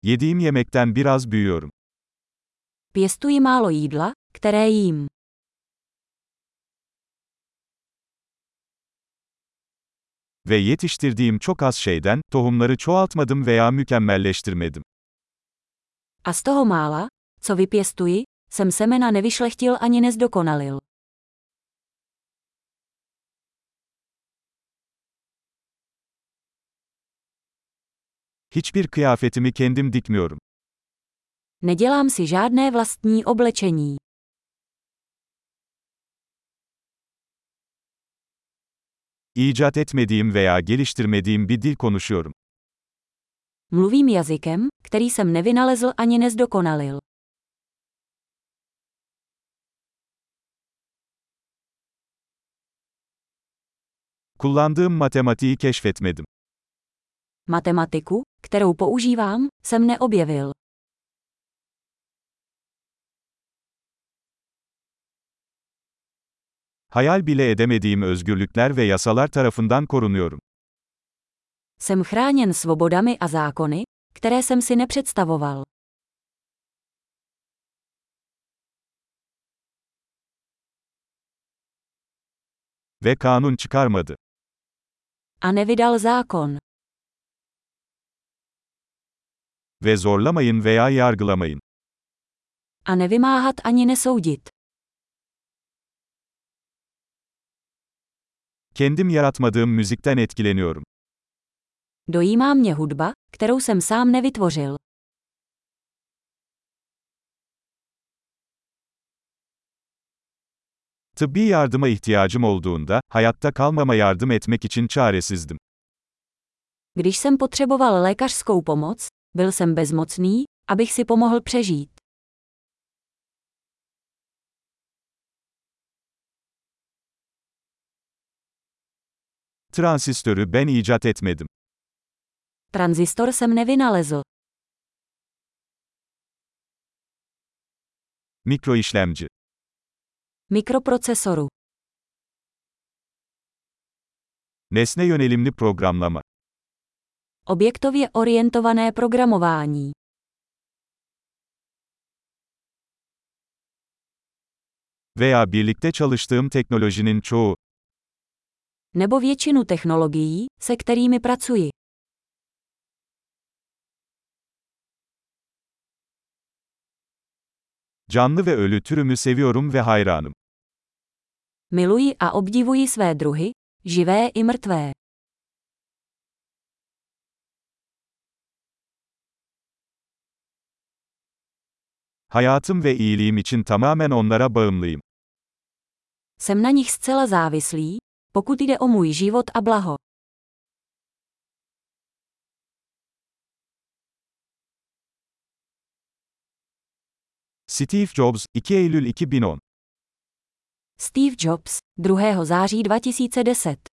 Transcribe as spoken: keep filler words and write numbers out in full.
Yediğim yemekten biraz büyüyorum. Pěstuji málo jídla, které jím. Ve yetiştirdiğim çok az şeyden, tohumları çoğaltmadım veya mükemmelleştirmedim. A z toho mála, co vypěstuji, jsem semena nevyšlechtil ani nezdokonalil. Hiçbir kıyafetimi kendim dikmiyorum. Nedělám si žádné vlastní oblečení. İcat etmediğim veya geliştirmediğim bir dil konuşuyorum. Mluvím jazykem, který jsem nevynalezl ani nezdokonalil. Kullandığım matematiği keşfetmedim. Matematiku, kterou používám, jsem neobjevil. Hayal bile edemediğim özgürlükler ve yasalar tarafından korunuyorum. Jsem chráněn svobodami a zákony, které jsem si nepředstavoval. Ve kanun çıkarmadı. A nevydal zákon. Ve zorlamayın veya yargılamayın. A nevymáhat ani nesoudit. Kendim yaratmadığım müzikten etkileniyorum. Dojímá mě hudba, kterou jsem sám nevytvořil. Tıbbi yardıma ihtiyacım olduğunda, hayatta kalmama yardım etmek için çaresizdim. Když jsem potřeboval lékařskou pomoc, byl jsem bezmocný, abych si pomohl přežít. Transistörü ben icat etmedim. Tranzistor jsem nevynalezl. Mikroişlemci. Mikroprocesoru. Nesne yönelimli programlama. Objektově orientované programování. Veya birlikte çalıştığım teknolojinin çoğu. Nebo většinu technologií, se kterými pracuji. Canlı ve ölü türümü seviyorum ve hayranım. Miluji a obdivuji své druhy, živé i mrtvé. Hayatım ve iyiliğim için tamamen onlara bağımlıyım. Jsem na nich zcela závislý, pokud jde o můj život a blaho. Steve Jobs, iki Eylül iki bin on. Steve Jobs, druhého září dva tisíce deset.